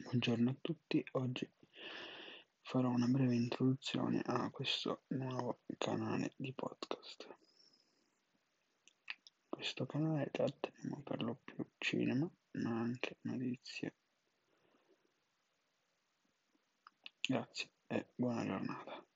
Buongiorno a tutti, oggi farò una breve introduzione a questo nuovo canale di podcast. Questo canale tratteremo per lo più cinema, ma anche notizie. Grazie e buona giornata.